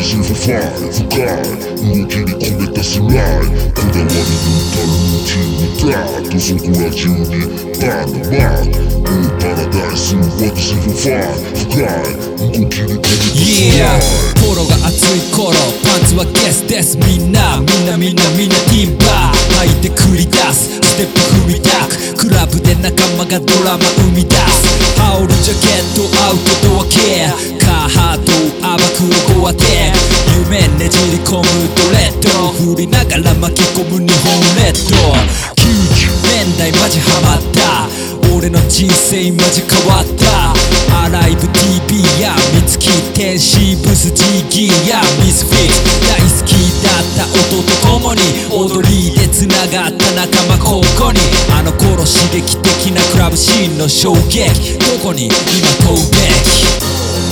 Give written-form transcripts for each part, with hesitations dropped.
私ファイ深い動きに込めたスライこだわり抜いたルーティンだとそこら中にバンドマークパラダイス私ファイ深い動きに込めたスライポロが熱い頃パンツはゲスですみんなティンバー履いて繰り出すステップ踏みたくクラブで仲間がドラマ生み出す羽織るジャケットアウトドアケアカーハート暴くロゴ当て夢ねじり込むドレッド振りながら巻き込む日本列島90年代マジハマった俺の人生マジ変わったアライブ TV や三月天使ブス GG やミスフィット大好きだった音と共に踊りで繋がった仲間ここにあの頃刺激的なクラブシーンの衝撃どこに今問うべき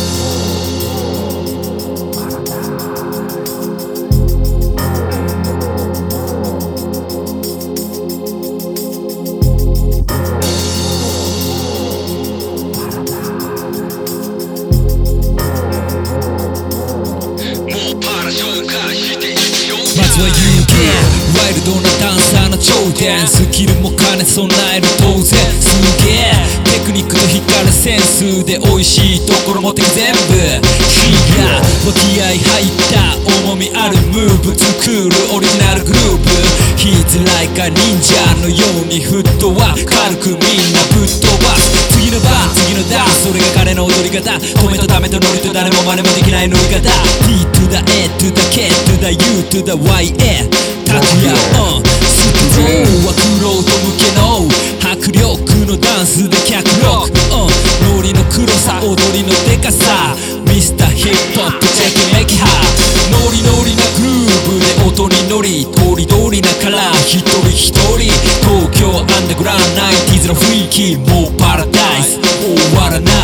まずは UK ワイルドなダンサーの頂点スキルも兼ね備える当然すげえテクニックと光るセンスで美味しいところ持ってく全部火が気合入った重みあるムーブ作るオリジナルグループHe's like a ninja のようにフットワーク軽くみんなぶっ飛ばす次の番次のダンスそれが彼の踊り方止めとダメとノリと誰も真似もできない乗り方 T to the A to the K to the U to the YA タクヤスクローはクロート向けの迫力のダンスで脚力ノリの黒さ踊りのデカさミスターヒップホップチェックメキハノリノリなグルーブで音に乗りとりどりなカラー一人一人東京アンダーグラウンド 90s の雰囲気もうパラダイス終わらない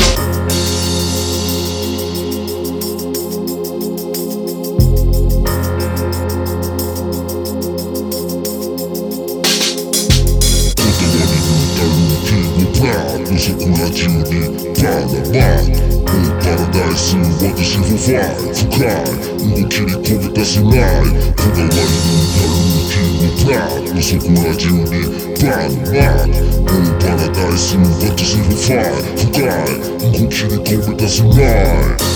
そこら中にバナナパラダイス私ファイ深い動きに込めたスライこだわり抜いたルーティンのそこら中にバナナパラダイス私ファイ深い動きに込めたスライ